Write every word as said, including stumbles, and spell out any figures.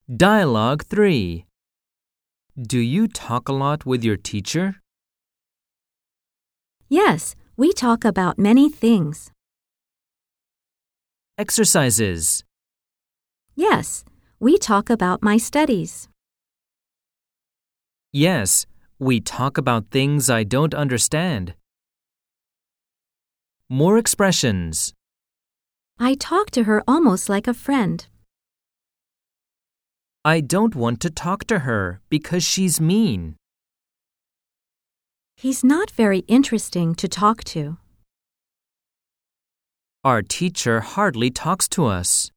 Dialogue three. Do you talk a lot with your teacher? Yes, we talk about many things. Exercises. Yes, we talk about my studies. Yes, we talk about things I don't understand. More expressions. I talk to her almost like a friend. I don't want to talk to her because she's mean. He's not very interesting to talk to. Our teacher hardly talks to us.